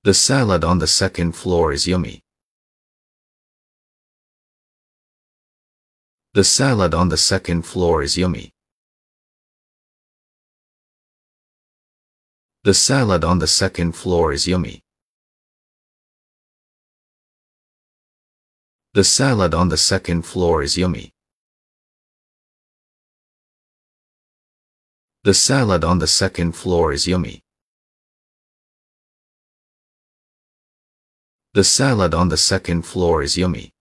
The salad on the second floor is yummy. The salad on the second floor is yummy. The salad on the second floor is yummy. The salad on the second floor is yummy. The salad on the second floor is yummy. The salad on the second floor is yummy.